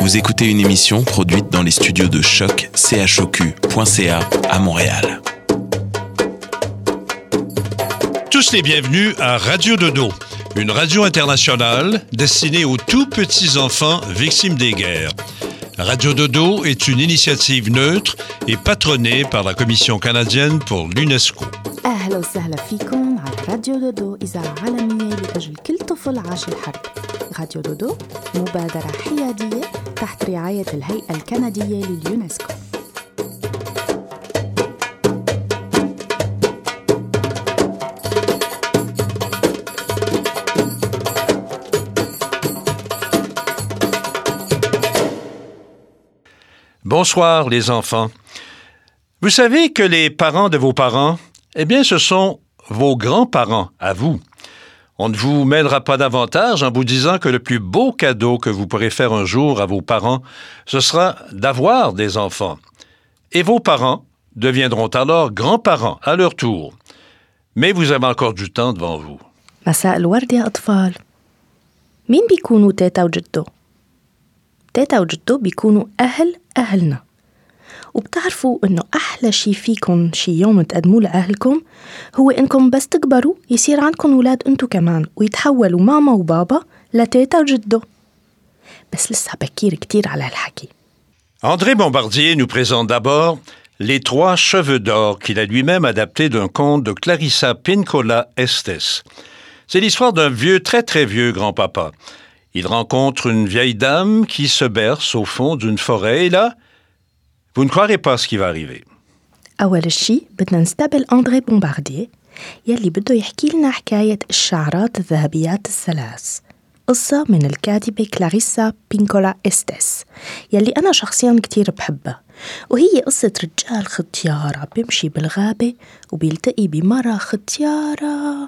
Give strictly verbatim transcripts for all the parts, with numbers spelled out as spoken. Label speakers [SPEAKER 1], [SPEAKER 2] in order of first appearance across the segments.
[SPEAKER 1] Vous écoutez une émission produite dans les studios de Choc C H O Q point C A à Montréal.
[SPEAKER 2] Tous les bienvenus à Radio Dodo, une radio internationale destinée aux tout petits enfants victimes des guerres. Radio Dodo est une initiative neutre et patronnée par la Commission canadienne pour l'UNESCO.
[SPEAKER 3] أهلا وسهلا فيكم على راديو دودو إذاعة عالمية لأجل كل طفل عاش الحرب. راديو دودو مبادرة حيادية تحت رعاية الهيئة الكندية لليونسكو.
[SPEAKER 2] Bonsoir les enfants. Vous savez que les parents de vos parents, eh bien ce sont vos grands-parents à vous. On ne vous mêlera pas davantage en vous disant que le plus beau cadeau que vous pourrez faire un jour à vos parents, ce sera d'avoir des enfants. Et vos parents deviendront alors grands-parents à leur tour. Mais vous avez encore du temps devant vous.
[SPEAKER 3] مساء الورد يا أطفال. مين بيكونوا تيتا وجدو؟ تيتا وجدو بيكونوا أهل أهلنا. وبتعرفوا إنه أحلى شي فيكم شي يوم تقدموا لأهلكم هو إنكم بس تكبروا يصير عندكم أولاد أنتوا كمان ويتحولوا ماما وبابا لتيتا وجدو. بس لسه بكير كتير على الحكي.
[SPEAKER 2] André Bombardier nous présente d'abord Les Trois Cheveux d'Or qu'il a lui-même adapté d'un conte de Clarissa Pinkola Estes. C'est l'histoire d'un vieux, très très vieux grand-papa. Il rencontre une vieille dame qui se berce au fond d'une forêt et là, vous ne croirez pas ce qui va arriver.
[SPEAKER 3] أول شي بدنا نستقبل أندري بومبارديه يلي بده يحكي لنا حكاية الشعرات الذهبيات الثلاث، قصة من الكاتبة كلاريسا بينكولا إستيس يلي أنا شخصياً كتير بحبها، وهي قصة رجال ختيارة بيمشي بالغابة وبيلتقي بمرة ختيارة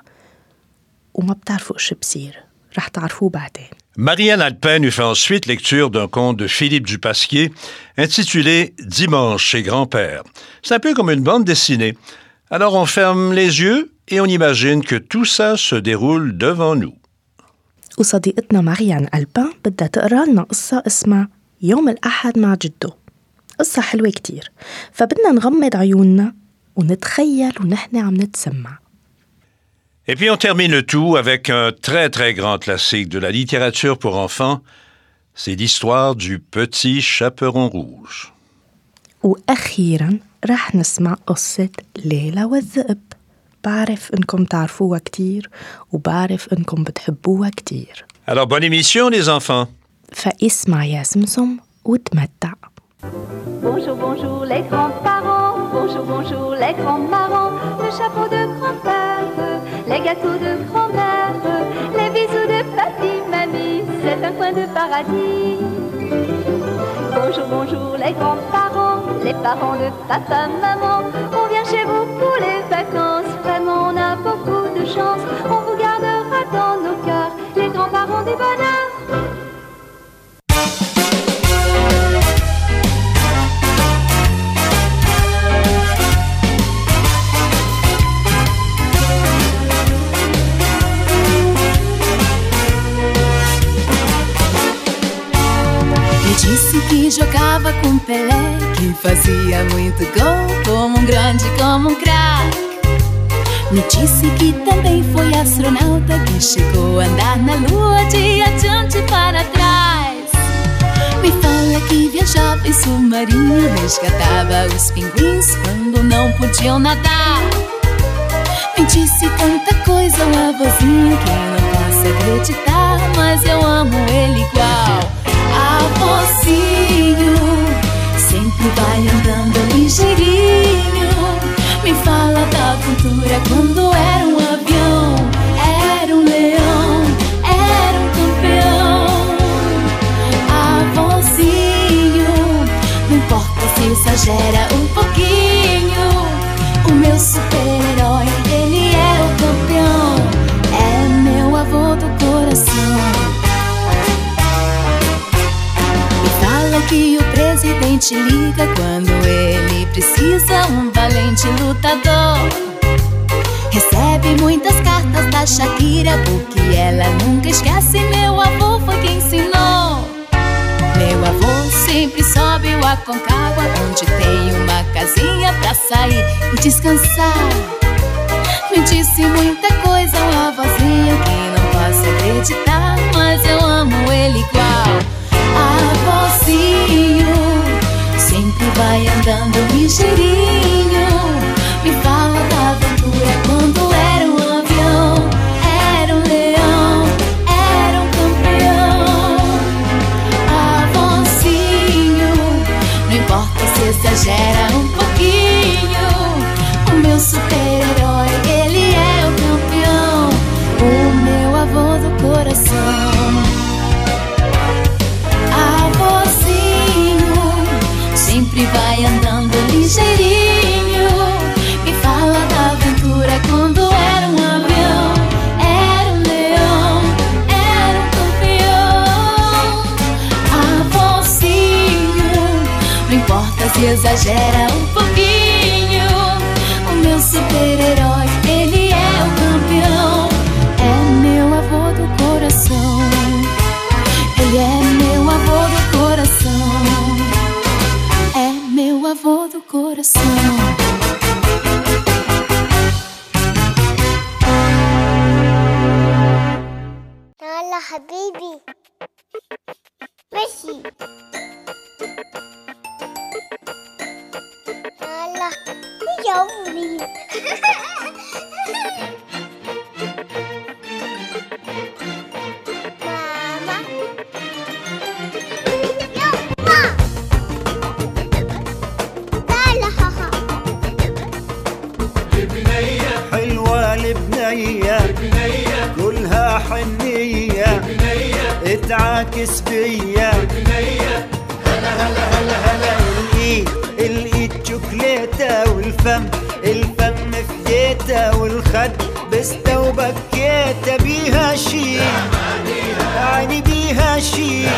[SPEAKER 3] وما بتعرفوا إيش بصير، رح تعرفوه بعدين.
[SPEAKER 2] Marianne Alpin nous fait ensuite lecture d'un conte de Philippe Dupasquier intitulé « Dimanche chez grand-père ». C'est un peu comme une bande dessinée. Alors on ferme les yeux et on imagine que tout ça se déroule devant nous.
[SPEAKER 3] وصديقتنا ماريان ألبان بدها تقرأ لنا قصة اسمها يوم الأحد مع جدو. قصة حلوة كتير، فبدنا نغمض عيوننا ونتخيل ونحن عم نتسمع.
[SPEAKER 2] Et puis on termine le tout avec un très très grand classique de la littérature pour enfants. C'est l'histoire du petit chaperon rouge.
[SPEAKER 3] وأخيراً رح نسمع قصة ليلى والذئب. بعرف إنكم تعرفوها كتير وبعرف إنكم بتحبوها كتير.
[SPEAKER 2] Alors bonne émission les enfants.
[SPEAKER 3] فاسمع يا سمسم وتمتع.
[SPEAKER 4] Bonjour, bonjour les grands-parents, bonjour, bonjour les grands-parents, le chapeau de grand-père, les gâteaux de grand-mère, les bisous de papy, mamie, c'est un coin de paradis. Bonjour, bonjour les grands-parents, les parents de papa, maman, on vient chez vous pour les vacances, vraiment on a beaucoup de chance, on vous gardera dans nos cœurs, les grands-parents du bonheur.
[SPEAKER 5] Disse que jogava com Pelé, que fazia muito gol, como um grande, como um craque. Me disse que também foi astronauta, que chegou a andar na lua de adiante para trás. Me fala que viajava em submarino, resgatava os pinguins quando não podiam nadar. Me disse tanta coisa, um avôzinho, que eu não posso acreditar, mas eu amo ele igual. Avôzinho, sempre vai andando ligeirinho. Me fala da aventura quando era um avião, era um leão, era um campeão. Avôzinho, não importa se exagera um pouquinho. O meu super-herói, ele é o campeão, é meu avô do coração. Que o presidente liga quando ele precisa um valente lutador. Recebe muitas cartas da Shakira, porque ela nunca esquece. Meu avô foi quem ensinou. Meu avô Aconcagua, onde tem uma casinha pra sair e descansar. Me disse muita coisa, uma vozinha que não posso acreditar, mas eu amo ele igual. Avôzinho, sempre vai andando ligeirinho, me fala da aventura quando era um avião, era um leão, era um campeão. Avôzinho, não importa se exagera um pouquinho, o meu super-herói, ele é o campeão, o meu avô do coração. Avôzinho, sempre vai andando ligeirinho, me fala da aventura quando era um avião, era um leão, era um campeão. Avôzinho, não importa se exagera um pouquinho, o meu super-herói, ele é o campeão, é meu avô do coração, ele é meu avô do coração, é meu avô do coração.
[SPEAKER 6] يلا حبيبي ماشي يلا يومي ماما يلا تعالى هاها
[SPEAKER 7] حلوة البنية كلها حنية اتعاكس بيا هلا هلا هلا هلا الايد الايد شوكليتة والفم الفم فديتة والخد بستة وبكيتة بيها شي يعني بيها شي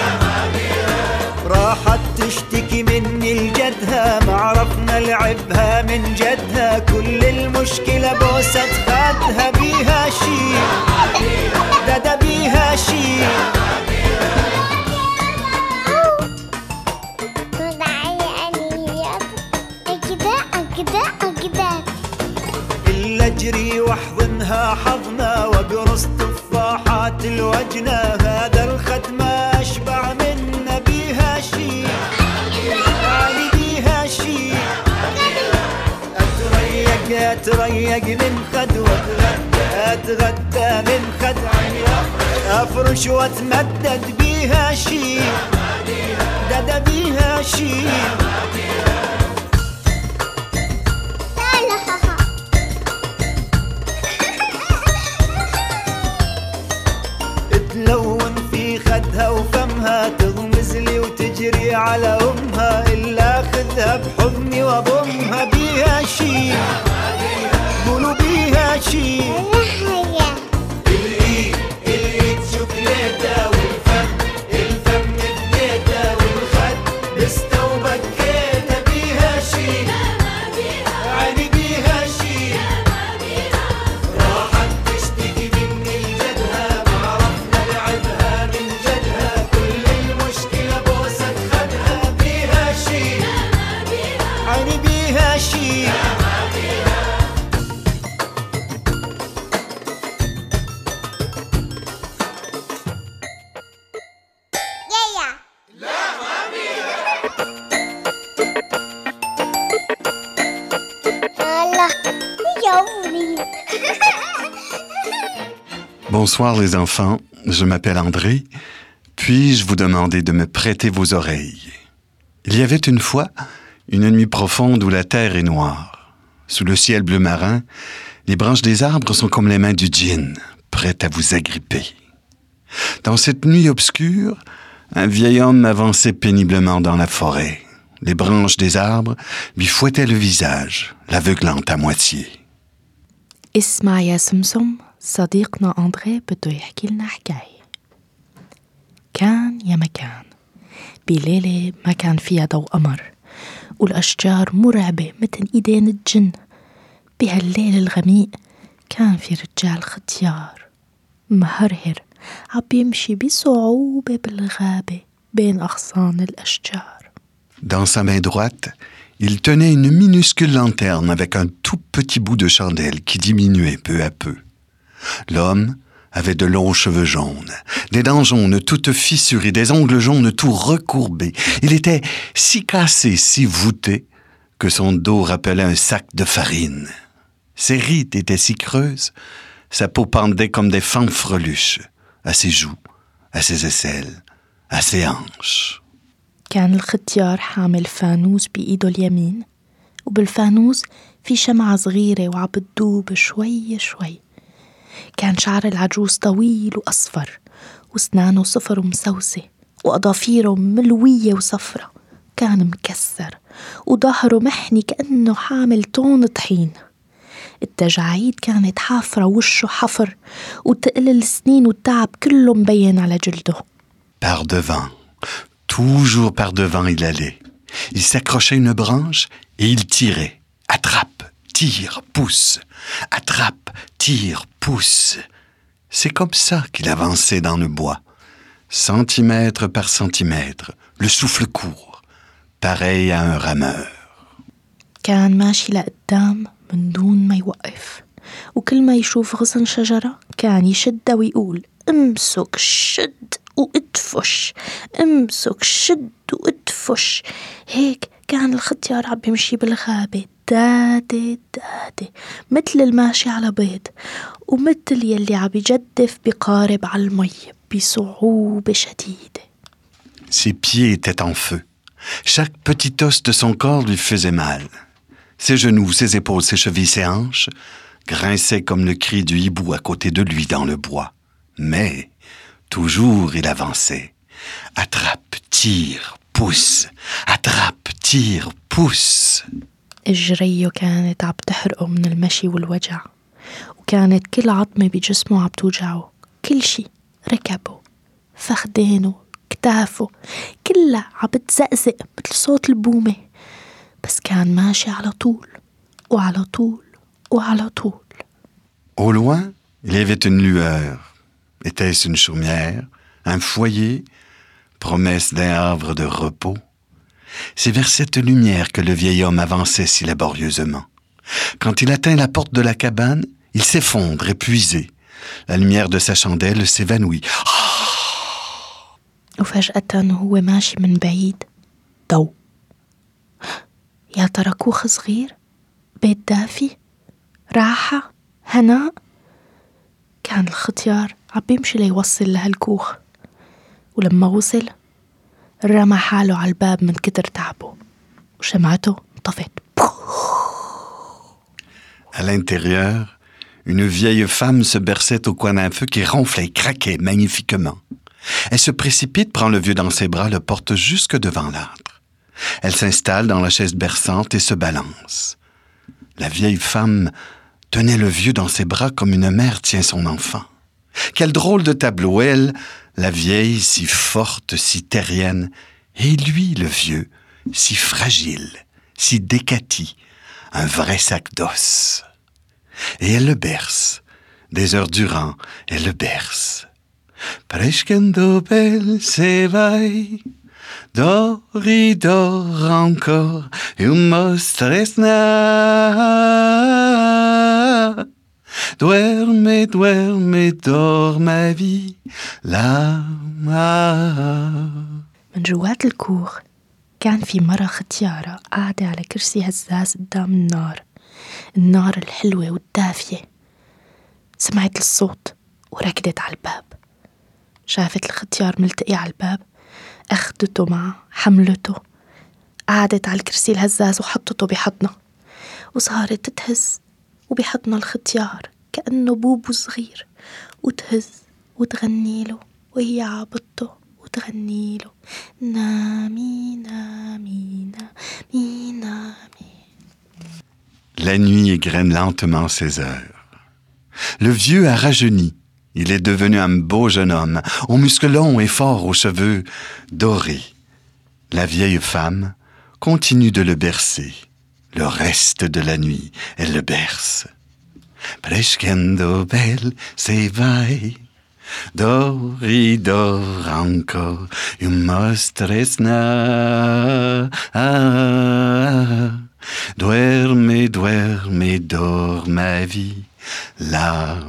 [SPEAKER 7] راحت تشتكي مني لجدها ما عرفنا لعبها من جدها كل المشكلة بوسة خدها بيها شي دادا بيها شي إلا أجري واحضنها حضنا واقرص تفاحات الوجنة هذا الخد ما أشبع منا بيها شي يعني بيها شي أتريق أتريق من خد وأتغدى أتغدى من خد أفرش وأتمدد بيها شي دادا بيها شي تلون في خدها وفمها تغمز لي وتجري على أمها إلا أخذها بحضني وأضمها بيها شي قولوا بيها شي الإيد الإيد شوكليتة والفم الفم بديتة والخد بستة وبكيتة بيها شي يعني بيها شي راحت تشتكي مني لجدها ما عرفنا لعبها من جدها كل المشكلة بوسة خدها بيها شي يعني بيها شي
[SPEAKER 8] Bonsoir les enfants, je m'appelle André. Puis-je vous demander de me prêter vos oreilles? Il y avait une fois une nuit profonde où la terre est noire. Sous le ciel bleu marin, les branches des arbres sont comme les mains du djinn, prêtes à vous agripper. Dans cette nuit obscure, un vieil homme avançait péniblement dans la forêt. Les branches des arbres lui fouettaient le visage, l'aveuglant à moitié.
[SPEAKER 3] اسمع يا سمسم، صديقنا أندري بده يحكي لنا حكاية. كان يا مكان بليلة ما كان فيها ضوء قمر والأشجار مرعبة مثل إيدين الجن. بهالليل الغميق كان في رجال ختيار مهرهر عم بيمشي بصعوبة بالغابة بين أغصان الأشجار.
[SPEAKER 8] Dans sa main droite, il tenait une minuscule lanterne avec un tout petit bout de chandelle qui diminuait peu à peu. L'homme avait de longs cheveux jaunes, des dents jaunes toutes fissurées, des ongles jaunes tout recourbés. Il était si cassé, si voûté, que son dos rappelait un sac de farine. Ses rides étaient si creuses, sa peau pendait comme des fanfreluches, à ses joues, à ses aisselles, à ses hanches.
[SPEAKER 3] كان الختيار حامل فانوس بإيده اليمين، وبالفانوس في شمعة صغيرة وعم بتدوب شوي شوي. كان شعر العجوز طويل وأصفر، وأسنانه صفر ومسوسة، وأظافيره ملوية وصفرة. كان مكسر وظهره محني كأنه حامل طون طحين. التجاعيد كانت حافرة ووشه حفر، وتقل السنين والتعب كله مبين على جلده.
[SPEAKER 8] Par devant, toujours par devant il allait. Il s'accrochait à une branche et il tirait. Attrape, tire, pousse. Attrape, tire, pousse. C'est comme ça qu'il avançait dans le bois, centimètre par centimètre, le souffle court, pareil à un rameur.
[SPEAKER 3] كان ماشي لقدام من دون ما يوقف، وكل ما يشوف غصن شجرة كان يشدها ويقول امسك شد وادفش، امسك شد وادفش. هيك كان الختيار عم بيمشي بالغابة دادي دادي، مثل الماشي على بيض، ومثل يلي عم يجدف بقارب على المي بصعوبة شديدة.
[SPEAKER 8] Ses pieds étaient en feu. Chaque petit os de son corps lui faisait mal. Ses genoux, ses épaules, ses chevilles, ses hanches grinçaient comme le cri du hibou à côté de lui dans le bois. Mais toujours il avançait. Attrape, tire, pousse. Attrape, tire, pousse.
[SPEAKER 3] الجرية كانت عم تحرقه من المشي والوجع، وكانت كل عظمة بجسمه عم توجعه. كل شي، ركبه، فخدينه، كتافه، كلها عم بتزقزق مثل صوت البومة. بس كان ماشي على طول وعلى طول وعلى طول.
[SPEAKER 8] Au loin, il y avait une lueur. Était-ce une chaumière, un foyer, promesse d'un havre de repos? C'est vers cette lumière que le vieil homme avançait si laborieusement. Quand il atteint la porte de la cabane, il s'effondre, épuisé. La lumière de sa chandelle s'évanouit.
[SPEAKER 3] وفجأة هو ماشي من بعيد ضوء. يا ترى كوخ صغير، بيت دافي، راحة، هناء. كان الختيار عم بيمشي ليوصل لهالكوخ، ولما وصل رمى حاله على الباب من كتر تعبه، وشمعته انطفت.
[SPEAKER 8] À l'intérieur, une vieille femme se berçait au coin d'un feu qui ronflait et craquait magnifiquement. Elle se précipite, prend le vieux dans ses bras, le porte jusque devant l'âtre. Elle s'installe dans la chaise berçante et se balance. La vieille femme tenait le vieux dans ses bras comme une mère tient son enfant. Quel drôle de tableau, elle, la vieille, si forte, si terrienne, et lui, le vieux, si fragile, si décati, un vrai sac d'os. Et elle le berce, des heures durant, elle le berce. Prescendo bel se vai, doridor encore, un mostresna. Duerme, duerme, dors ma vie, la
[SPEAKER 3] من جوات الكوخ كان في مرة ختيارة قاعدة على كرسي هزاز قدام النار، النار الحلوة والدافية. سمعت الصوت وركضت على الباب. شافت الختيار ملتقي على الباب، أخدته معه، حملته، قعدت على الكرسي الهزاز وحطته بحضنها، وصارت تهز وبحضن الختيار كأنه بوبو صغير، وتهز وتغني له وهي عابطته وتغني له نامي نامي نامي نامي.
[SPEAKER 8] La nuit égrène lentement ses heures. Le vieux a rajeuni. Il est devenu un beau jeune homme, aux muscles longs et forts, aux cheveux dorés. La vieille femme continue de le bercer. Le reste de la nuit, elle le berce. Prescendo bel se vai, Doridor encore, you must rest now. Duerme, duerme, dors ma vie, là.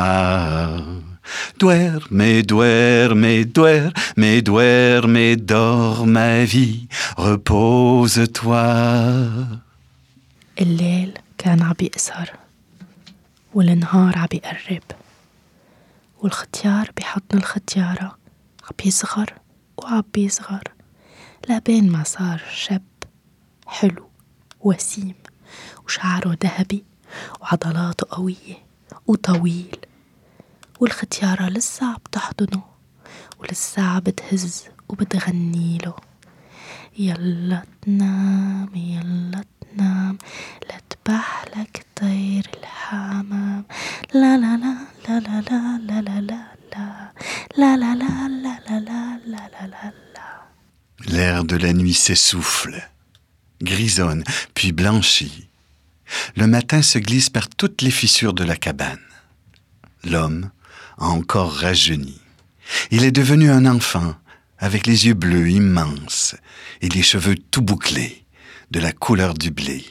[SPEAKER 8] Duerme, duerme, duerme, duerme, dors ma vie, repose-toi.
[SPEAKER 3] الليل كان عم بيقصر والنهار عم بيقرب والختيار بحضن الختيارة عم بيصغر وعم بيصغر لبين ما صار شاب حلو وسيم وشعره ذهبي وعضلاته قوية وطويل، والختيارة لسه عم تحضنه ولسه عم بتهز وبتغنيله يلا تنام يلا تنام لا تبحلك طير الحمام لا لا لا لا لا لا لا لا لا لا لا لا لا لا لا لا لا لا.
[SPEAKER 8] L'air de la nuit s'essouffle, grisonne, puis blanchit. Le matin se glisse par toutes les fissures de la cabane. L'homme a encore rajeuni. Il est devenu un enfant, avec les yeux bleus immenses et les cheveux tout bouclés, de la couleur du blé.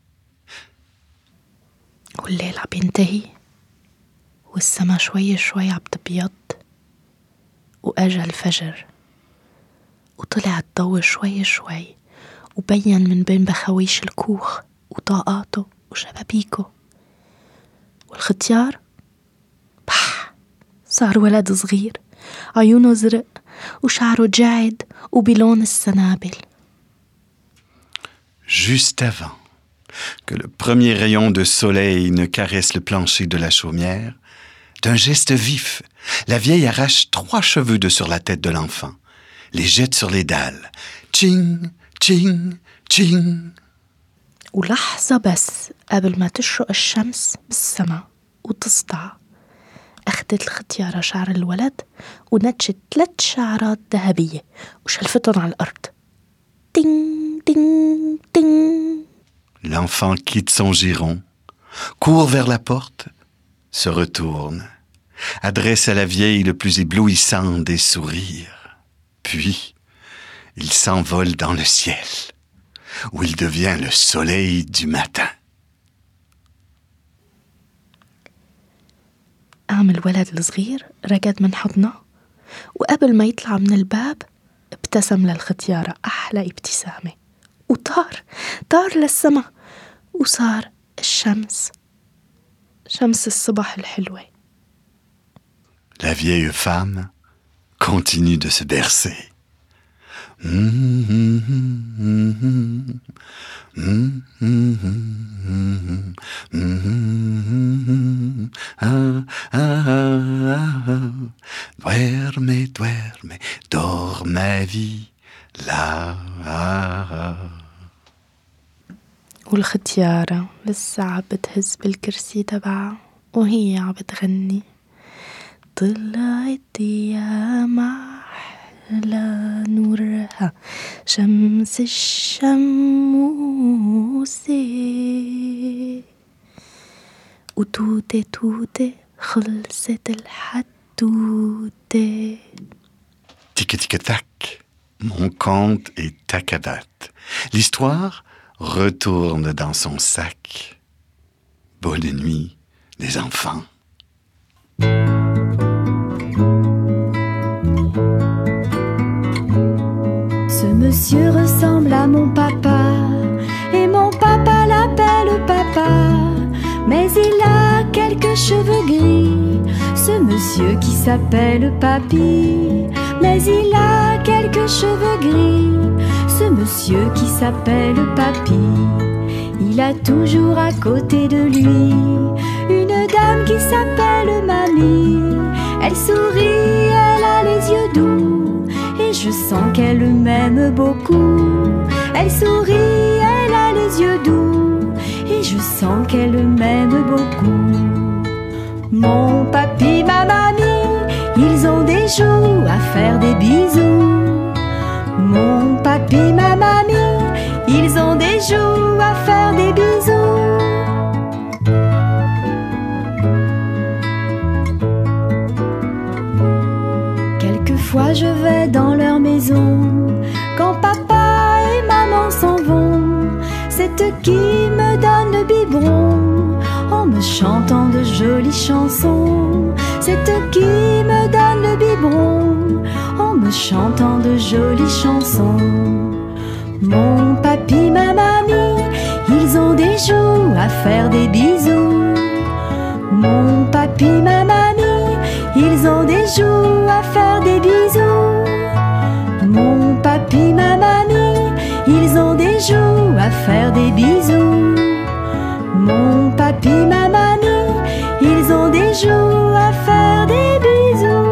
[SPEAKER 3] والليل عم ينتهي والسما شوي شوي عم تبيض وأجا الفجر وطلع الضوء شوي شوي وبين من بين بخويش الكوخ وطاقاته وشبابيكه، والختيار بح صار ولد صغير عيونه زرق وشعره جعد وبلون السنابل.
[SPEAKER 8] Juste avant que le premier rayon de soleil ne caresse le plancher de la chaumière, d'un geste vif, la vieille arrache trois cheveux de sur la tête de l'enfant, les jette sur les dalles. Tching, tching, tching.
[SPEAKER 3] ولحظة بس قبل ما تشرق الشمس بالسما وتسطع أخدت الختيارة شعر الولد ونتشت ثلاث شعرات ذهبية وشلفتهم على الأرض. Ting, ting, ting.
[SPEAKER 8] L'enfant quitte son giron, court vers la porte, se retourne, adresse à la vieille le plus éblouissant des sourires. Puis, il s'envole dans le ciel, où il devient le soleil du matin.
[SPEAKER 3] قام الولد الصغير رقد من حضنه وقبل ما يطلع من الباب ابتسم للختيارة أحلى ابتسامة وطار طار للسما وصار الشمس شمس الصبح الحلوة.
[SPEAKER 8] La vieille femme continue de se bercer. Duerme, duerme, dors ma vie, là.
[SPEAKER 3] والختيارة لسه عم بتهز بالكرسي تبعها وهي عم بتغني طلعت يا محلى نورها شمس الشموس وتوتة توتة خلصت الحدوتة.
[SPEAKER 8] Tic tic tac, mon conte est tacabat. L'histoire retourne dans son sac. Bonne nuit, les enfants.
[SPEAKER 5] Ce monsieur ressemble à mon papa et mon papa l'appelle papa, mais il a quelques cheveux gris. Ce monsieur qui s'appelle Papy, mais il a quelques cheveux gris. Ce monsieur qui s'appelle Papy, il a toujours à côté de lui une dame qui s'appelle Mamie. Elle sourit, elle a les yeux doux et je sens qu'elle m'aime beaucoup. Elle sourit, elle a les yeux doux et je sens qu'elle m'aime beaucoup. Mon papy, ma mamie, ils ont des joues à faire des bisous. Mon papy, ma mamie, ils ont des joues à faire des bisous. Parfois je vais dans leur maison, quand papa et maman s'en vont. C'est eux qui me donnent le biberon, en me chantant de jolies chansons. C'est eux qui me donnent le biberon, en me chantant de jolies chansons. Mon papi, ma mamie, ils ont des joues à faire des bisous. Mon papi, ma mamie, ils ont des joues à faire des bisous. Mon papi, ma mamie, ils ont des joues à faire des bisous. Mon papi, ma mamie, ils ont des joues à faire des bisous.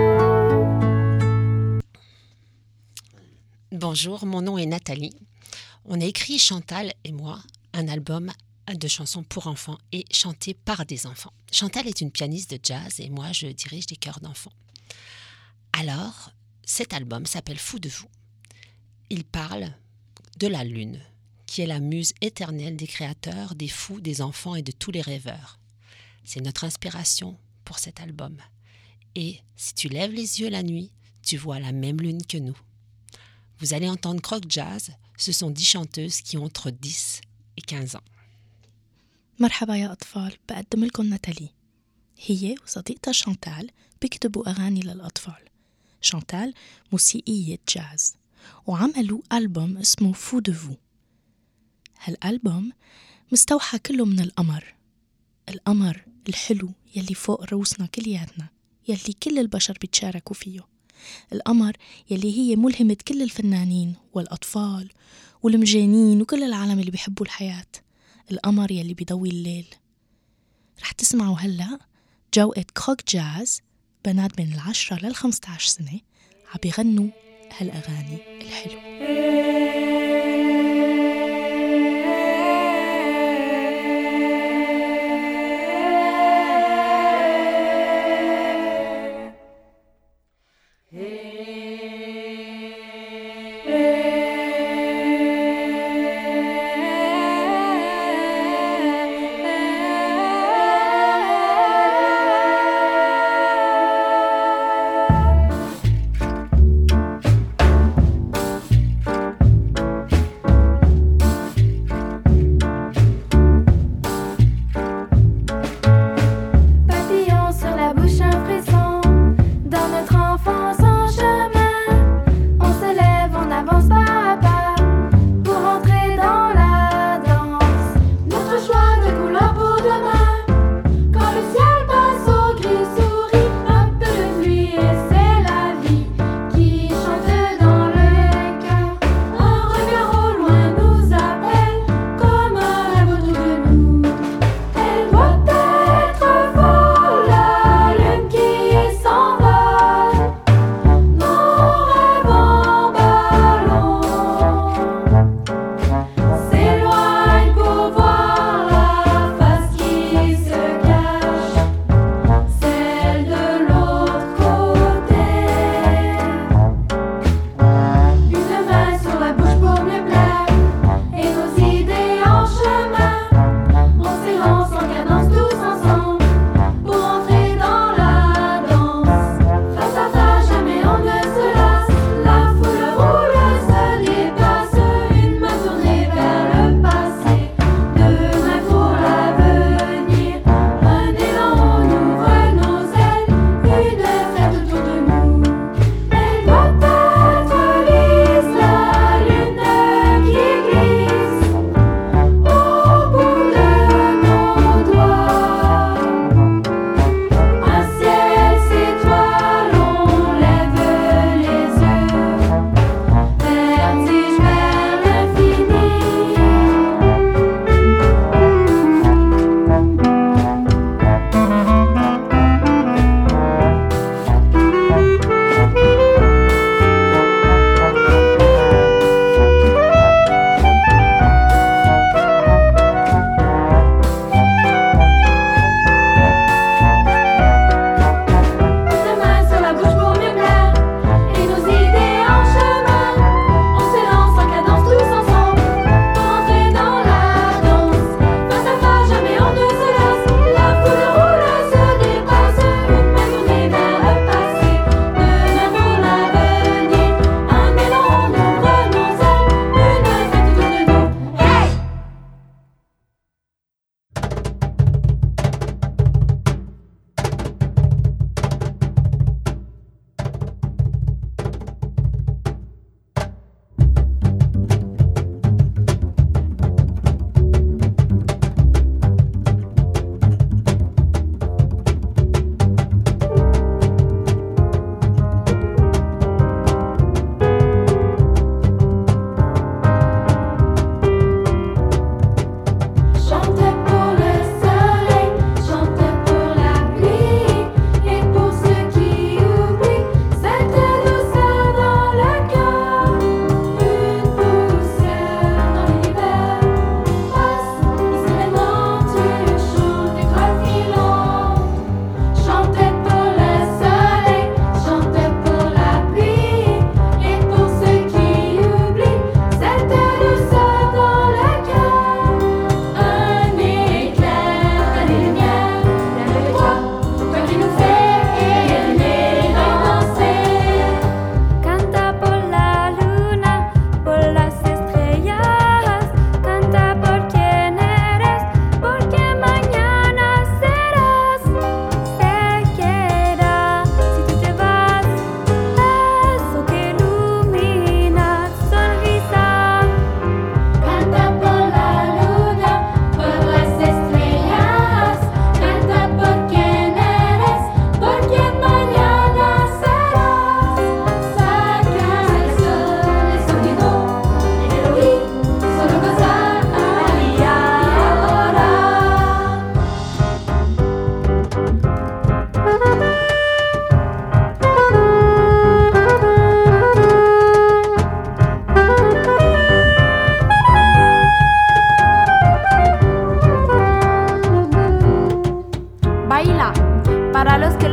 [SPEAKER 9] Bonjour, mon nom est Nathalie. On a écrit, Chantal et moi, un album de chansons pour enfants et chantées par des enfants. Chantal est une pianiste de jazz et moi, je dirige des chœurs d'enfants. Alors, cet album s'appelle Fou de vous. Il parle de la lune, qui est la muse éternelle des créateurs, des fous, des enfants et de tous les rêveurs. C'est notre inspiration pour cet album. Et si tu lèves les yeux la nuit, tu vois la même lune que nous. Vous allez entendre Croc Jazz, ce sont dix chanteuses qui ont entre dix et quinze ans.
[SPEAKER 3] مرحبا يا أطفال، بقدم لكم ناتالي. هي وصديقتها شانتال بيكتبوا أغاني للأطفال. شانتال موسيقية جاز وعملوا ألبوم اسمه فو دو فو. هالألبوم مستوحى كله من القمر، القمر الحلو يلي فوق روسنا كلياتنا، يلي كل البشر بيتشاركوا فيه. القمر يلي هي ملهمة كل الفنانين والأطفال والمجانين وكل العالم اللي بيحبوا الحياة. القمر يلي بيضوي الليل. رح تسمعوا هلأ جوقة كروك جاز، بنات بين العشرة للخمسة عشر سنة عم بيغنوا هالأغاني الحلوة.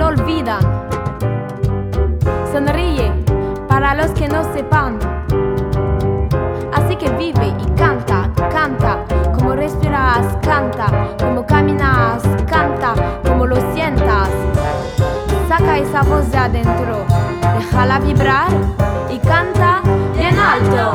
[SPEAKER 10] no olvidan. Sonríe para los que no sepan. Así que vive y canta, canta. Como respiras, canta. Como caminas, canta. Como lo sientas. Saca esa voz de adentro. Déjala vibrar y canta bien alto.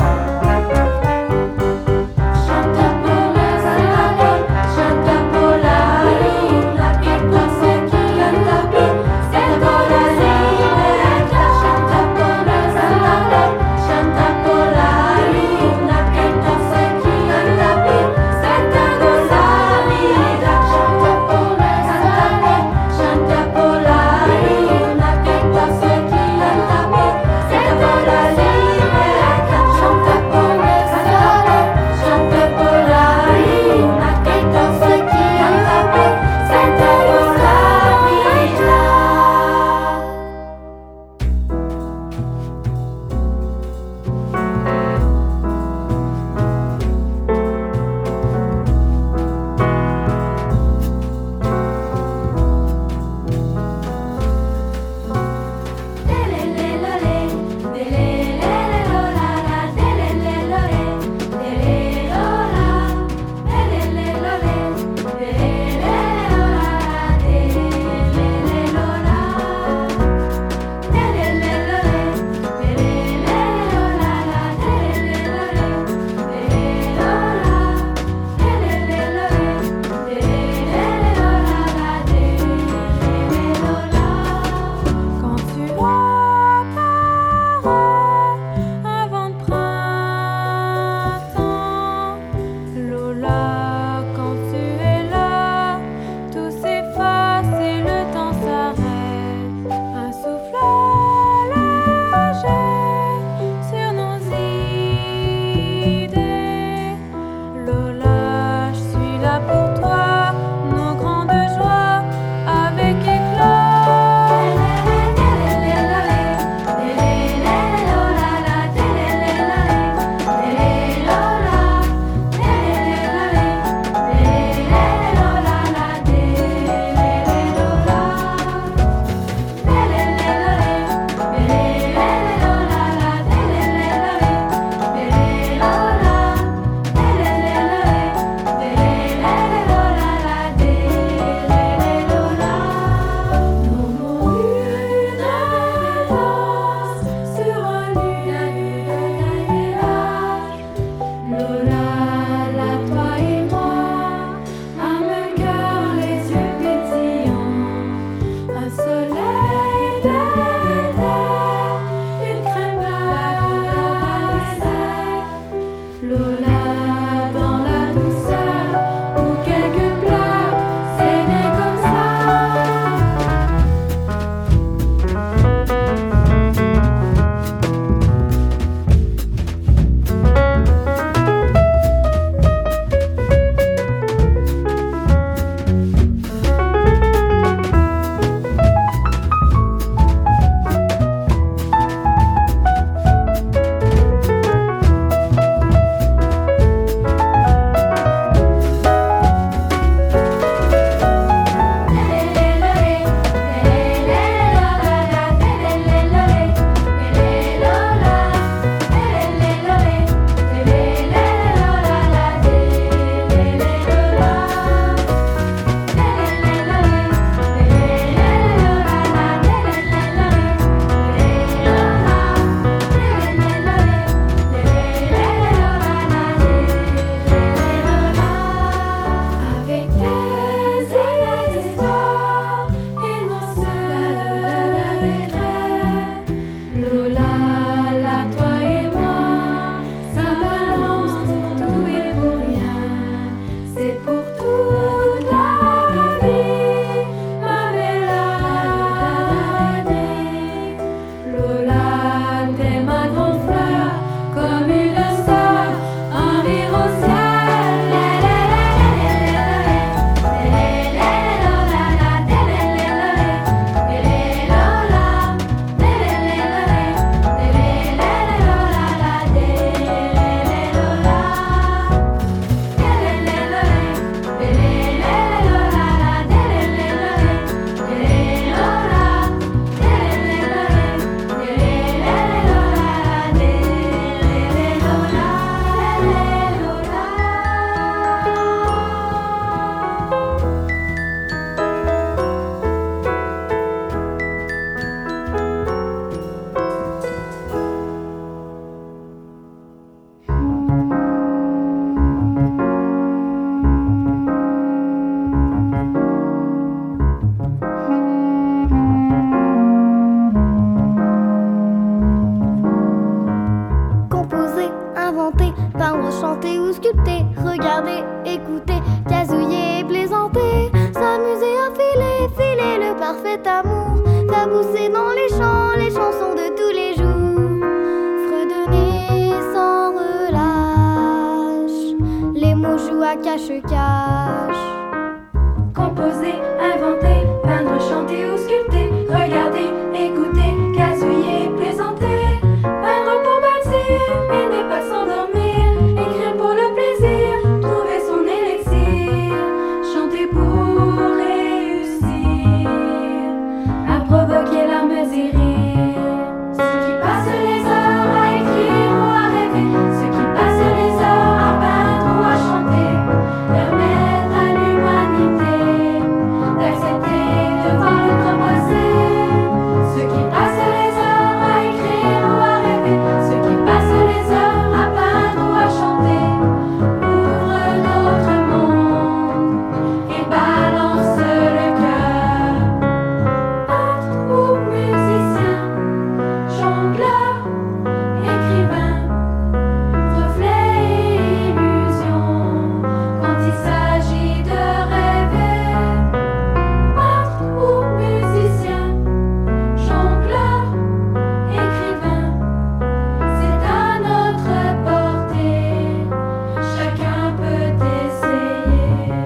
[SPEAKER 11] chanter ou sculpter, regarder, écouter, gazouiller, plaisanter, s'amuser à filer, filer le parfait amour, faire pousser dans les champs les chansons de tous les jours, fredonner sans relâche, les mots jouent à cache-cache.
[SPEAKER 12] Composer, inventer, peindre, chanter ou sculpter, regarder, écouter, gazouiller, plaisanter, peindre pour bâtir, aimer pas s'endormir, écrire pour le plaisir, trouver son élixir, chanter pour réussir, à provoquer larmes et rires. Ceux qui passent les heures à écrire ou à rêver, ceux qui passent les heures à peindre ou à chanter, permettent à l'humanité d'accepter de voir le temps passer. Ceux qui passent les heures à écrire ou à rêver, ceux qui passent les heures à peindre ou à chanter, ouvrent notre monde et balancent le cœur. Peintres ou musiciens, jongleurs, écrivains, reflets et illusions, quand il s'agit de rêver. Peintres ou musiciens, jongleurs, écrivains, c'est à notre portée, chacun peut essayer.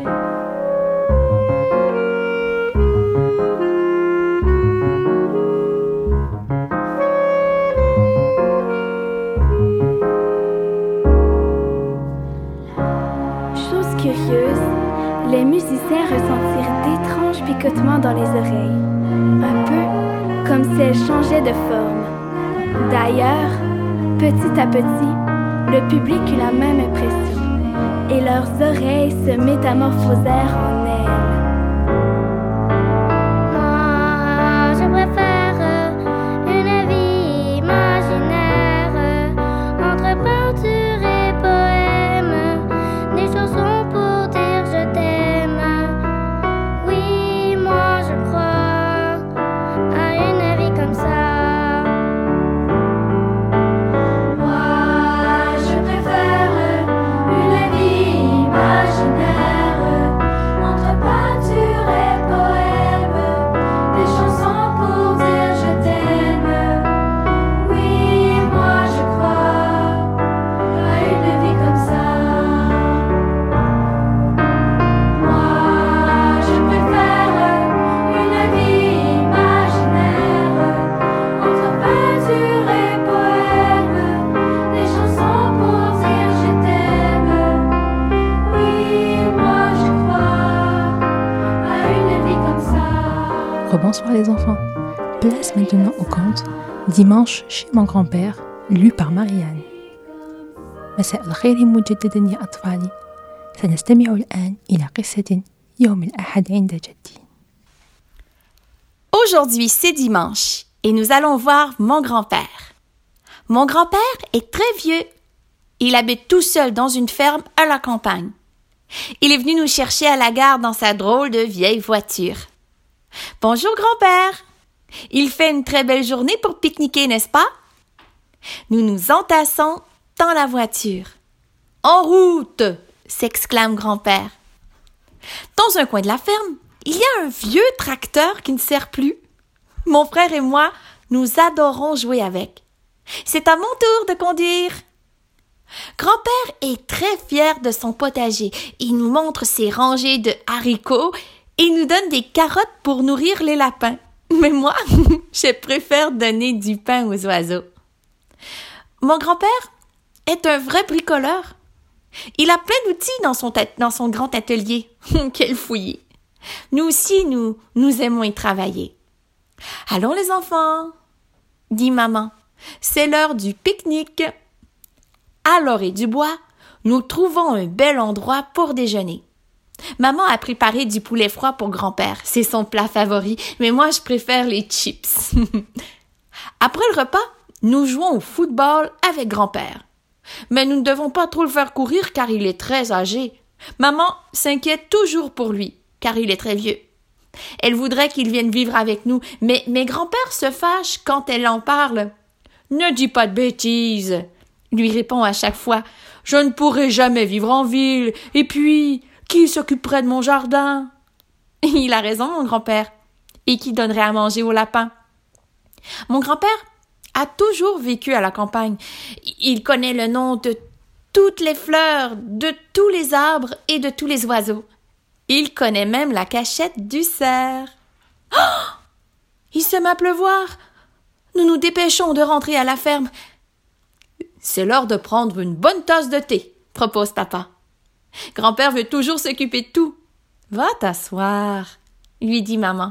[SPEAKER 11] Chose curieuse, les musiciens ressentirent d'étranges picotements dans les oreilles, un peu comme si elles changeaient de forme. D'ailleurs, petit à petit, le public eut la même impression, et leurs oreilles se métamorphosèrent en ailes. Moi, je préfère une vie imaginaire, entre peinture et poème, des chansons pour dire je t'aime. Oui, moi je crois à une vie comme ça.
[SPEAKER 12] Moi, je préfère une vie imaginaire, entre peinture et poème, des chansons pour dire je t'aime. Oui, moi je crois à une vie comme ça. Moi, je préfère une vie imaginaire, entre peinture et poème, des chansons pour dire je t'aime. Oui, moi je crois à une vie comme ça.
[SPEAKER 3] Rebonsoir les enfants. Place maintenant au conte Dimanche chez mon grand-père, lu par Marianne. مساء الخير مجددا يا أطفالي. سنستمع الآن إلى قصة يوم الأحد عند جدي.
[SPEAKER 13] Aujourd'hui, c'est dimanche et nous allons voir mon grand-père. Mon grand-père est très vieux. Il habite tout seul dans une ferme à la campagne. Il est venu nous chercher à la gare dans sa drôle de vieille voiture. Bonjour grand-père. Il fait une très belle journée pour pique-niquer, n'est-ce pas? Nous nous entassons dans la voiture. En route! S'exclame grand-père. Dans un coin de la ferme, il y a un vieux tracteur qui ne sert plus. Mon frère et moi, nous adorons jouer avec. C'est à mon tour de conduire. Grand-père est très fier de son potager. Il nous montre ses rangées de haricots et nous donne des carottes pour nourrir les lapins. Mais moi, je préfère donner du pain aux oiseaux. Mon grand-père est un vrai bricoleur. Il a plein d'outils dans son, dans son grand atelier. Quel fouillis! Nous aussi, nous, nous aimons y travailler. Allons les enfants, dit maman, c'est l'heure du pique-nique. À l'orée du bois, nous trouvons un bel endroit pour déjeuner. Maman a préparé du poulet froid pour grand-père. C'est son plat favori, mais moi je préfère les chips. Après le repas, nous jouons au football avec grand-père. Mais nous ne devons pas trop le faire courir car il est très âgé. Maman s'inquiète toujours pour lui car il est très vieux. Elle voudrait qu'il vienne vivre avec nous, mais, mais grand-père se fâche quand elle en parle. « Ne dis pas de bêtises !» lui répond à chaque fois. «
[SPEAKER 14] Je ne pourrai jamais vivre en ville. Et puis, qui s'occuperait de mon jardin? Il a raison, mon grand-père. Et qui donnerait à manger aux lapins? Mon grand-père a toujours vécu à la campagne. Il connaît le nom de toutes les fleurs, de tous les arbres et de tous les oiseaux. Il connaît même la cachette du cerf. Oh! Il se met à pleuvoir. Nous nous dépêchons de rentrer à la ferme. C'est l'heure de prendre une bonne tasse de thé, propose papa. Grand-père veut toujours s'occuper de tout. Va t'asseoir, lui dit maman.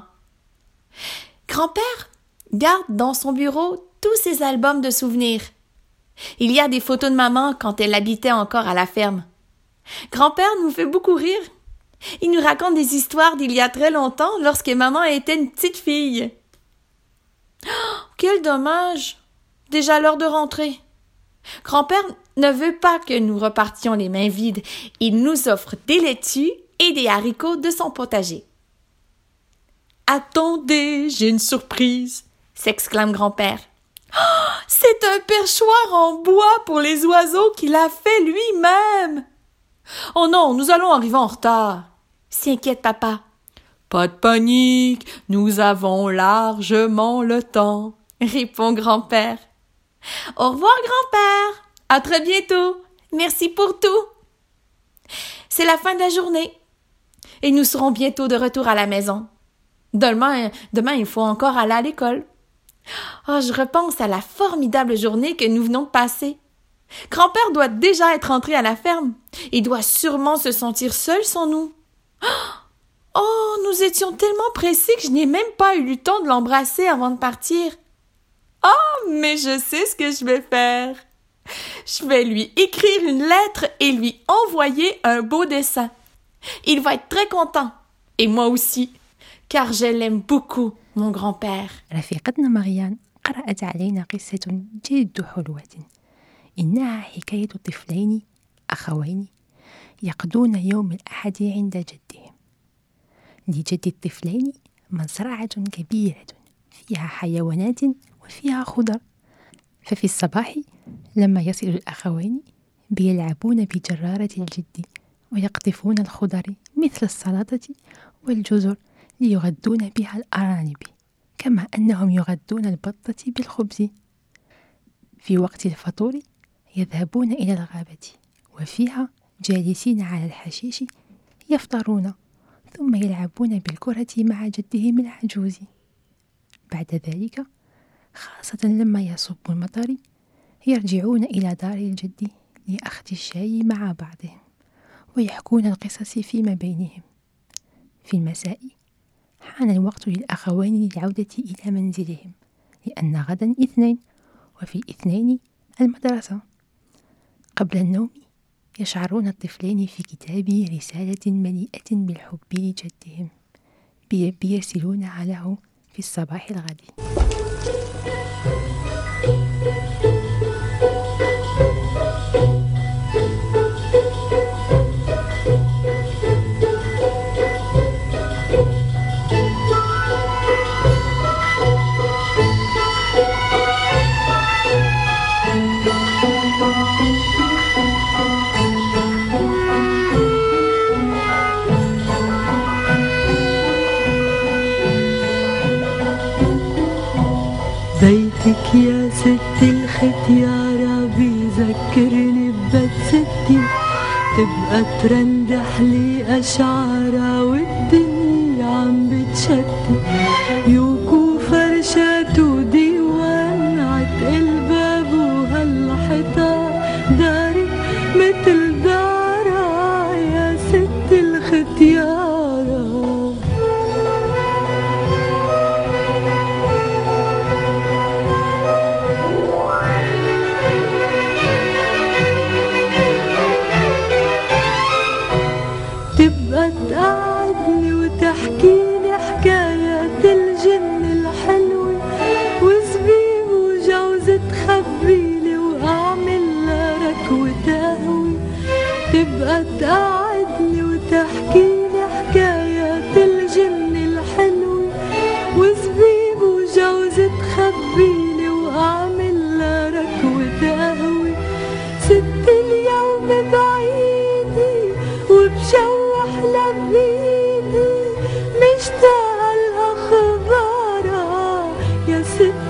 [SPEAKER 14] Grand-père garde dans son bureau tous ses albums de souvenirs. Il y a des photos de maman quand elle habitait encore à la ferme. Grand-père nous fait beaucoup rire. Il nous raconte des histoires d'il y a très longtemps lorsque maman était une petite fille. Oh, quel dommage! Déjà l'heure de rentrer. Grand-père ne veut pas que nous repartions les mains vides. Il nous offre des laitues et des haricots de son potager. « Attendez, j'ai une surprise !» s'exclame grand-père. Oh, c'est un perchoir en bois pour les oiseaux qu'il a fait lui-même. Oh non, nous allons arriver en retard, s'inquiète papa. Pas de panique, nous avons largement le temps, répond grand-père. Au revoir grand-père, à très bientôt, merci pour tout. C'est la fin de la journée et nous serons bientôt de retour à la maison. Demain, demain il faut encore aller à l'école. Oh, je repense à la formidable journée que nous venons de passer. Grand-père doit déjà être rentré à la ferme. Il doit sûrement se sentir seul sans nous. Oh, nous étions tellement pressés que je n'ai même pas eu le temps de l'embrasser avant de partir. Oh, mais je sais ce que je vais faire. Je vais lui écrire une lettre et lui envoyer un beau dessin. Il va être très content. Et moi aussi, car je l'aime beaucoup, mon grand-père.
[SPEAKER 3] رفيقتنا مريان قرأت علينا قصة جد حلوة. إنها حكاية طفلين أخوين يقضون يوم الأحد عند جدهم. لجد الطفلين مزرعة كبيرة فيها حيوانات وفيها خضر. ففي الصباح لما يصل الأخوين بيلعبون بجرارة الجد ويقطفون الخضر مثل السلطة والجزر ليغذون بها الأرانب، كما أنهم يغذون البطة بالخبز. في وقت الفطور يذهبون إلى الغابة وفيها جالسين على الحشيش يفطرون، ثم يلعبون بالكرة مع جدهم العجوز. بعد ذلك خاصة لما يصب المطر يرجعون إلى دار الجد لأخذ الشاي مع بعضهم ويحكون القصص فيما بينهم. في المساء حان الوقت للأخوين للعودة إلى منزلهم، لأن غدا اثنين وفي الاثنين المدرسة. قبل النوم يشعرون الطفلين في كتاب رسالة مليئة بالحب لجدهم بيرسلونها له في الصباح الغد.
[SPEAKER 15] بيتك يا ست الختيارة بيذكرني ببيت ستي، تبقى ترندح لي أشعارها والدنيا عم بتشتي، يوكو فرشات وديوان عتقل باب وهالحيطان، دارك متل دارها يا ست الختيارة. تبقى تقعدني وتحكيلي حكايات الجن الحلوة وزبيب وجوز تخبيلي وأعمل ركوة قهوة. تبقى تقعدني وتحكيلي حكايات الجن الحلوة وزبيب وجوز تخبيلي وأعمل ركوة قهوة. ست اليوم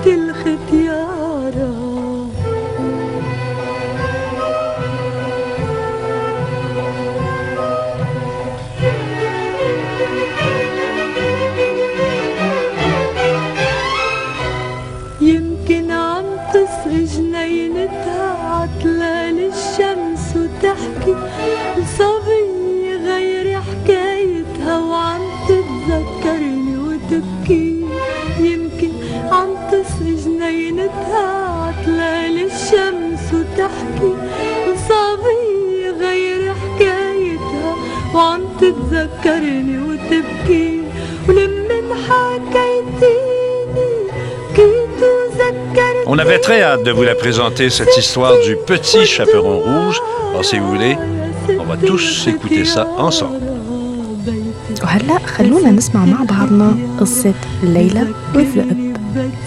[SPEAKER 15] الختيارة. يمكن عم تسقي جنينتها عتلال الشمس وتحكي لصبية غير حكايتها وعم تتذكرني وتبكي. يمكن عم تسقي جنينتها عتلال الشمس وتحكي لصبية غير حكايتها وعم تتذكرني وتبكي. ولمن حكيتيني
[SPEAKER 2] On avait très hâte de vous la présenter, cette histoire du petit chaperon rouge. Alors si vous voulez, on va tous écouter ça ensemble.
[SPEAKER 3] وهلأ خلونا نسمع مع بعضنا قصة ليلى والذئب.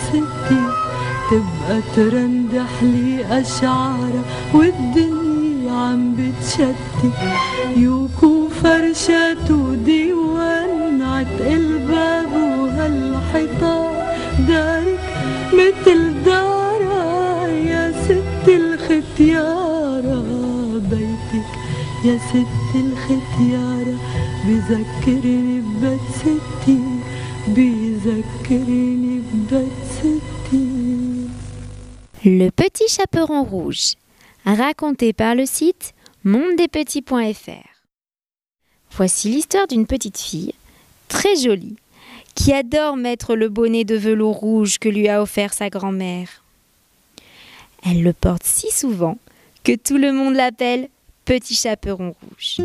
[SPEAKER 15] تبقى ترندح لي أشعارها والدنيا عم بتشتي يوكو فرشات وديوان عتق الباب وهالحيطان دارك مثل دارها يا ست الختيارة. بيتك يا ست الختيارة بذكرني ببيت ستي بذكرني ببيت ستي.
[SPEAKER 16] Le petit chaperon rouge, raconté par le site monde des petits point f r. Voici l'histoire d'une petite fille, très jolie, qui adore mettre le bonnet de velours rouge que lui a offert sa grand-mère. Elle le porte si souvent que tout le monde l'appelle Petit Chaperon Rouge.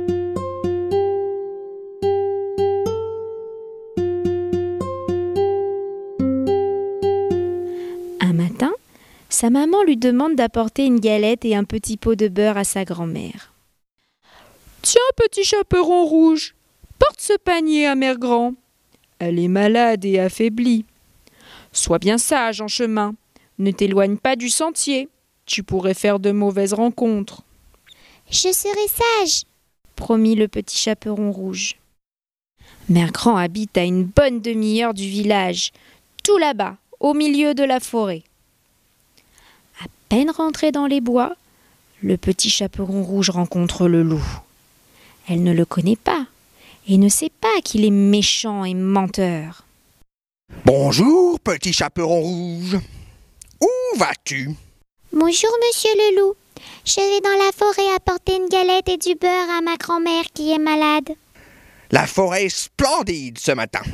[SPEAKER 16] Un matin, sa maman lui demande d'apporter une galette et un petit pot de beurre à sa grand-mère. « Tiens, Petit Chaperon Rouge, porte ce panier à Mère Grand. Elle est malade et affaiblie. Sois bien sage en chemin. Ne t'éloigne pas du sentier. Tu pourrais faire de mauvaises rencontres. »«
[SPEAKER 6] Je serai sage, »
[SPEAKER 16] promit le petit chaperon rouge. Mère Grand habite à une bonne demi-heure du village, tout là-bas, au milieu de la forêt. À peine rentré dans les bois, le petit chaperon rouge rencontre le loup. Elle ne le connaît pas et ne sait pas qu'il est méchant et menteur.
[SPEAKER 17] « Bonjour, petit chaperon rouge. Où vas-tu ?»«
[SPEAKER 6] Bonjour, monsieur le loup. Je vais dans la forêt apporter une galette et du beurre à ma grand-mère qui est malade. »«
[SPEAKER 17] La forêt est splendide ce matin.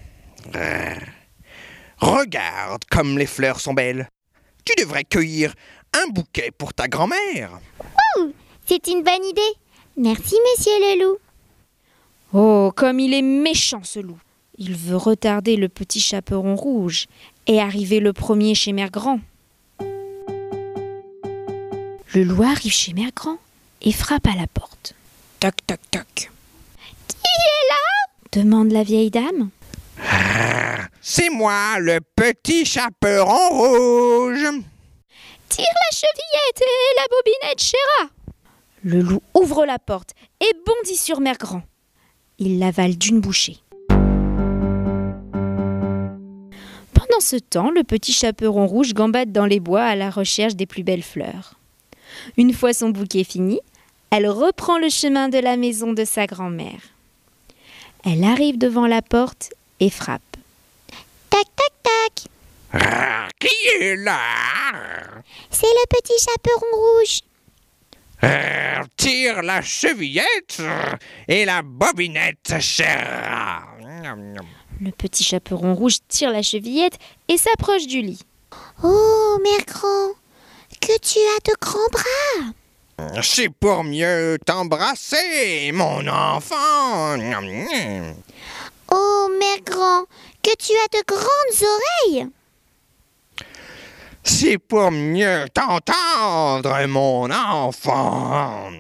[SPEAKER 17] Regarde comme les fleurs sont belles. Tu devrais cueillir un bouquet pour ta grand-mère. »«
[SPEAKER 6] Oh, c'est une bonne idée. Merci, monsieur le loup. »
[SPEAKER 16] Oh, comme il est méchant ce loup. Il veut retarder le petit chaperon rouge et arriver le premier chez Mère Grand. Le loup arrive chez Mère Grand et frappe à la porte. Toc, toc, toc. «
[SPEAKER 6] Qui est là ?»
[SPEAKER 16] demande la vieille dame.
[SPEAKER 17] Ah, c'est moi, le petit chaperon rouge.
[SPEAKER 16] Tire la chevillette et la bobinette, chéra. Le loup ouvre la porte et bondit sur Mère Grand. Il l'avale d'une bouchée. Pendant ce temps, le petit chaperon rouge gambade dans les bois à la recherche des plus belles fleurs. Une fois son bouquet fini, elle reprend le chemin de la maison de sa grand-mère. Elle arrive devant la porte et frappe.
[SPEAKER 6] Tac, tac, tac.
[SPEAKER 17] Ah, qui est là?
[SPEAKER 6] C'est le petit chaperon rouge.
[SPEAKER 17] Euh, tire la chevillette et la bobinette, chère.
[SPEAKER 16] Le petit chaperon rouge tire la chevillette et s'approche du lit.
[SPEAKER 6] Oh, Mère Grand, que tu as de grands bras.
[SPEAKER 17] C'est pour mieux t'embrasser, mon enfant.
[SPEAKER 6] Oh, Mère Grand, que tu as de grandes oreilles.
[SPEAKER 17] C'est pour mieux t'entendre, mon enfant.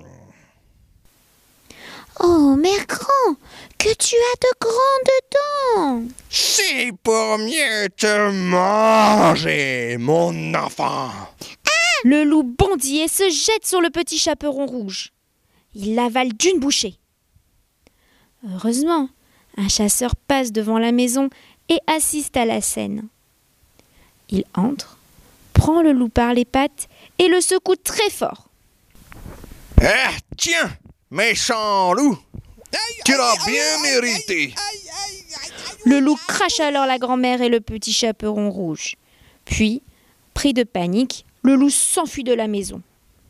[SPEAKER 6] Oh, Mère Grand, que tu as de grandes dents.
[SPEAKER 17] C'est pour mieux te manger, mon enfant.
[SPEAKER 16] Ah! Le loup bondit et se jette sur le petit chaperon rouge. Il l'avale d'une bouchée. Heureusement, un chasseur passe devant la maison et assiste à la scène. Il entre, prend le loup par les pattes et le secoue très fort.
[SPEAKER 17] Ah, tiens, méchant loup, tu l'as bien mérité.
[SPEAKER 16] Le loup crache alors la grand-mère et le petit chaperon rouge. Puis, pris de panique, le loup s'enfuit de la maison.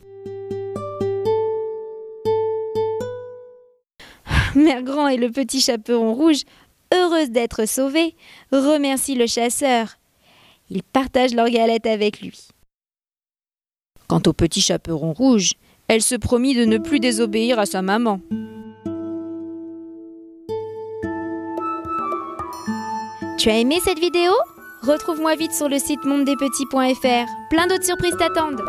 [SPEAKER 16] Mère Grand et le petit chaperon rouge, heureuses d'être sauvés, remercient le chasseur. Ils partagent leur galette avec lui. Quant au petit chaperon rouge, elle se promit de ne plus désobéir à sa maman. Tu as aimé cette vidéo ? Retrouve-moi vite sur le site monde des petits point f r. Plein d'autres surprises t'attendent.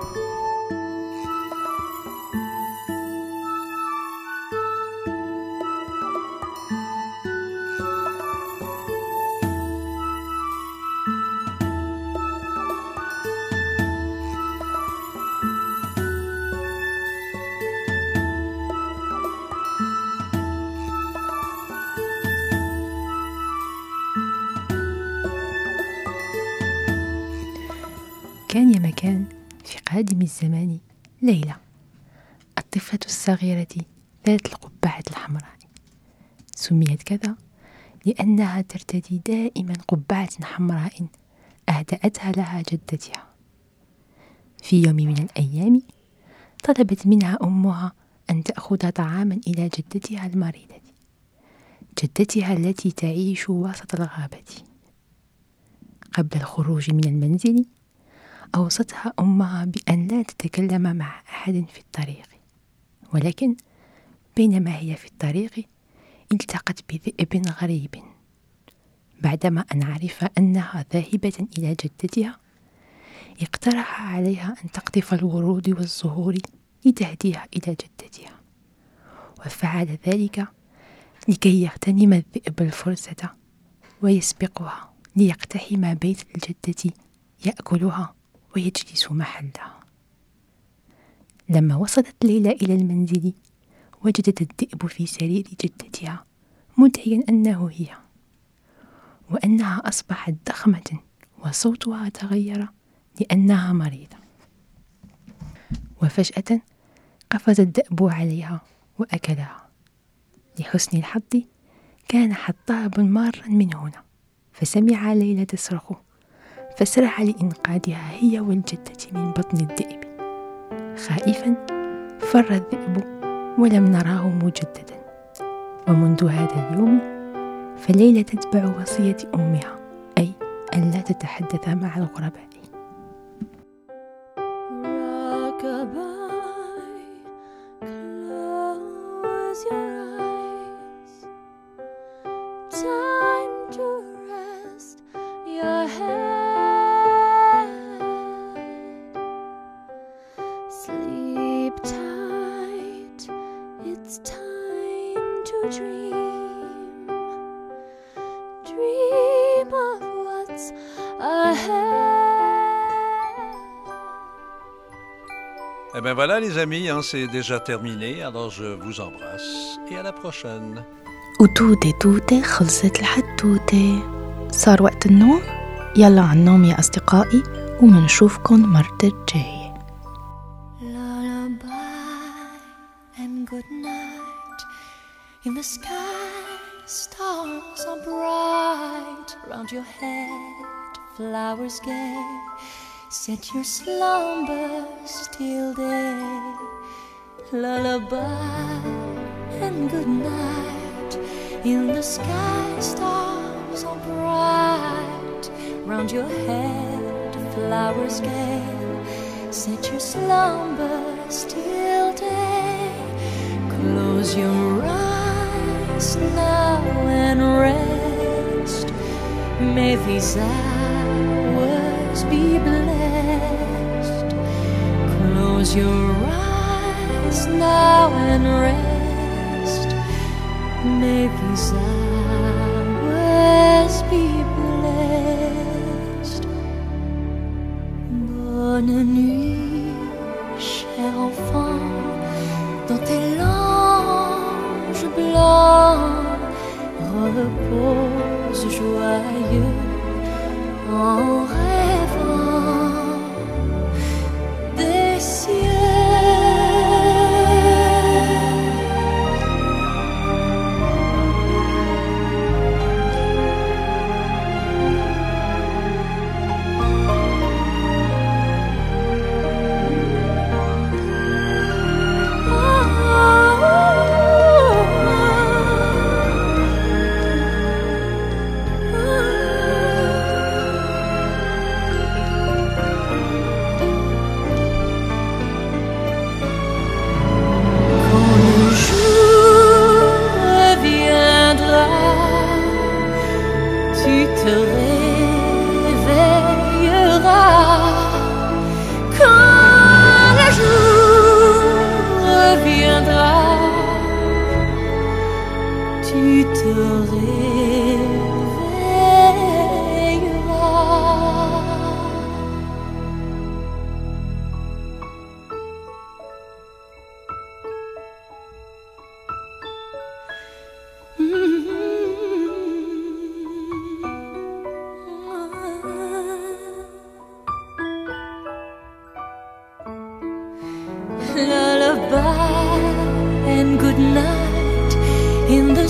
[SPEAKER 18] كان يا مكان في قادم الزمان ليلة، الطفلة الصغيرة ذات القبعة الحمراء. سميت كذا لأنها ترتدي دائما قبعة حمراء أهدأتها لها جدتها. في يوم من الأيام طلبت منها أمها أن تأخذ طعاما إلى جدتها المريضة، جدتها التي تعيش وسط الغابة. قبل الخروج من المنزل أوصتها أمها بأن لا تتكلم مع أحد في الطريق، ولكن بينما هي في الطريق التقت بذئب غريب. بعدما أن عرف أنها ذاهبة إلى جدتها، اقترح عليها أن تقطف الورود والزهور لتهديها إلى جدتها، وفعل ذلك لكي يغتنم الذئب الفرصة ويسبقها ليقتحم بيت الجدة يأكلها ويجلس محلها. لما وصلت ليلى إلى المنزل وجدت الذئب في سرير جدتها مدعيا أنه هي، وأنها أصبحت ضخمة وصوتها تغير لأنها مريضة. وفجأة قفز الذئب عليها وأكلها. لحسن الحظ كان حطاب مارا من هنا، فسمع ليلى تصرخ، فسرع لإنقاذها هي والجدة من بطن الذئب. خائفا فر الذئب ولم نراه مجددا. ومنذ هذا اليوم فليلى تتبع وصية أمها، أي ألا تتحدث مع الغرباء.
[SPEAKER 15] Sleep tight, it's time to dream. Dream of what's ahead.
[SPEAKER 2] Eh bien voilà les amis, hein, c'est déjà terminé, alors je vous embrasse et à la prochaine.
[SPEAKER 3] وتوتة توتة خلصت الحدوتة، صار وقت النوم. يلا عالنوم يا أصدقائي، ومنشوفكن مرة الجاية.
[SPEAKER 15] And good night. In the sky, stars are bright. Round your head, flowers gay. Set your slumbers till day. Lullaby and good night. In the sky, stars are bright. Round your head, flowers gay. Set your slumbers till day. Close your eyes now and rest. May these hours be blessed. Close your eyes now and rest. May these hours be blessed. Bonne nuit, cher enfant, dans tes langes blancs, repose joyeux en rêve.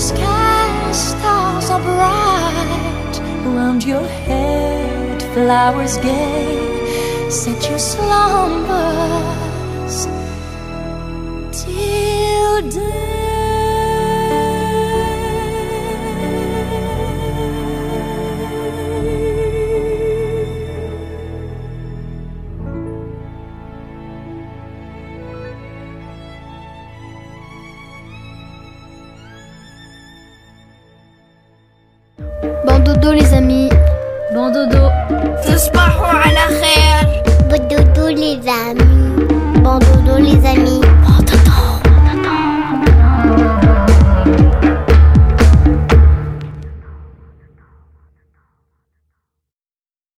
[SPEAKER 15] sky stars are bright, round your head flowers gay set your slumbers till day.
[SPEAKER 6] Bon dodo les amis. Bon dodo.
[SPEAKER 15] تصبحوا على خير.
[SPEAKER 6] Bon dodo les amis. Bon dodo les amis.